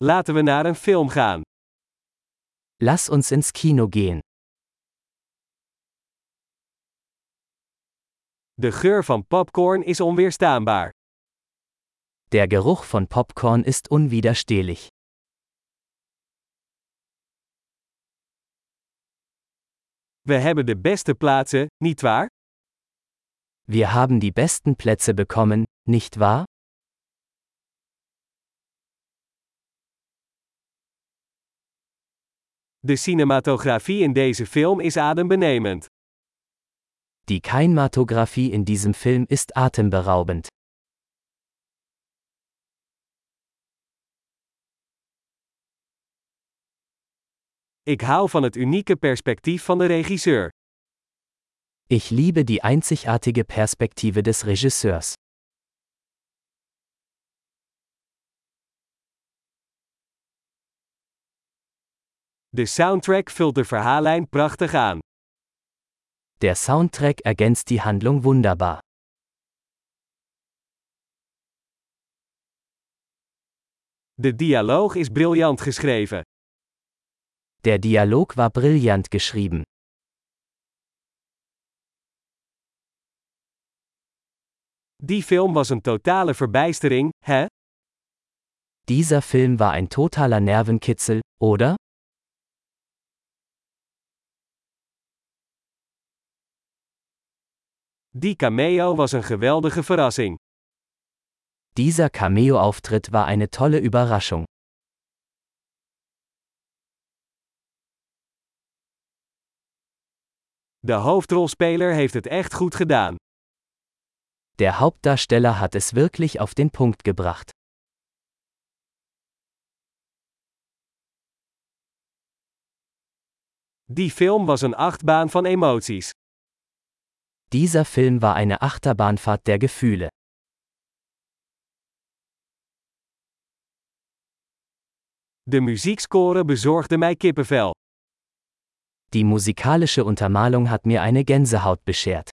Laten we naar een film gaan. Lass uns ins Kino gehen. De geur van popcorn is onweerstaanbaar. Der Geruch von Popcorn ist unwiderstehlich. We hebben de beste plaatsen, nietwaar? Wir haben die besten Plätze bekommen, nicht wahr? De cinematografie in deze film is adembenemend. Die Kinematografie in diesem Film ist atemberaubend. Ik hou van het unieke perspectief van de regisseur. Ich liebe die einzigartige Perspektive des Regisseurs. De soundtrack vult de verhaallijn prachtig aan. Der Soundtrack ergänzt die Handlung wunderbar. De dialoog is briljant geschreven. Der Dialog war brillant geschrieben. Die film was een totale verbijstering, hè? Dieser Film war ein totaler Nervenkitzel, oder? Die cameo was een geweldige verrassing. Dieser Cameo-Auftritt war eine tolle Überraschung. De hoofdrolspeler heeft het echt goed gedaan. Der Hauptdarsteller hat es wirklich auf den Punkt gebracht. Die film was een achtbaan van emoties. Dieser Film war eine Achterbahnfahrt der Gefühle. De muziekscore bezorgde mij kippenvel. Die musikalische Untermalung hat mir eine Gänsehaut beschert.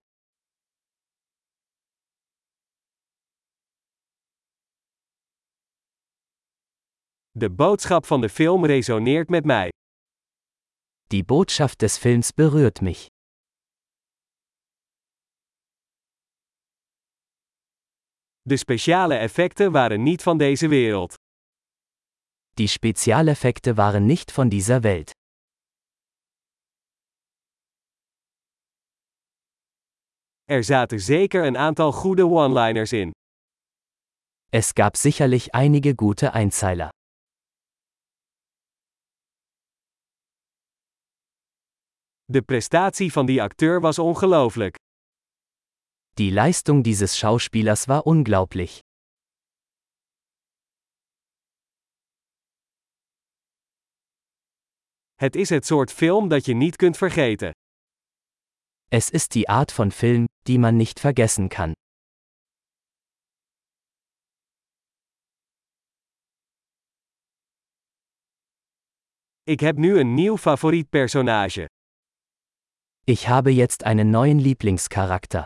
De boodschap van de film resoneert met mij. Die Botschaft des Films berührt mich. De speciale effecten waren niet van deze wereld. Die Spezialeffekte waren nicht von dieser Welt. Er zaten zeker een aantal goede one-liners in. Es gab sicherlich einige gute Einzeiler. De prestatie van die acteur was ongelooflijk. Die Leistung dieses Schauspielers war unglaublich. Het is het soort film dat je niet kunt vergeten. Es ist die Art von Film, die man nicht vergessen kann. Ik heb nu een nieuw favoriet personage. Ich habe jetzt einen neuen Lieblingscharakter.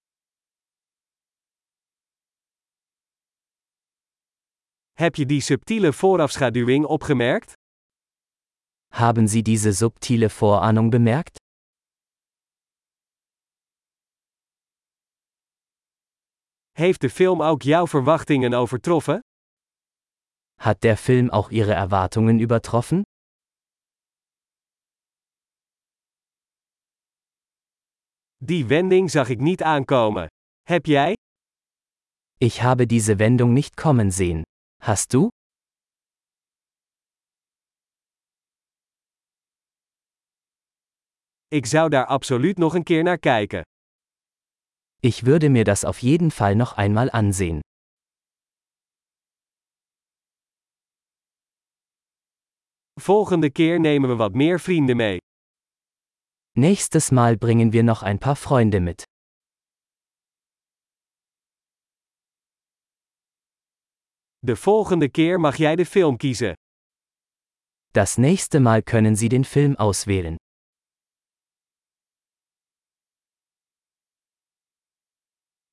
Heb je die subtiele voorafschaduwing opgemerkt? Haben Sie diese subtile Vorahnung bemerkt? Heeft de film ook jouw verwachtingen overtroffen? Hat der Film auch Ihre Erwartungen übertroffen? Die wending zag ik niet aankomen. Heb jij? Ich habe diese Wendung nicht kommen sehen. Hast du? Ik zou daar absoluut nog een keer naar kijken. Ich würde mir das auf jeden Fall noch einmal ansehen. Volgende keer nemen we wat meer vrienden mee. Nächstes Mal bringen wir noch ein paar Freunde mit. De volgende keer mag jij de film kiezen. Das nächste Mal können Sie den Film auswählen.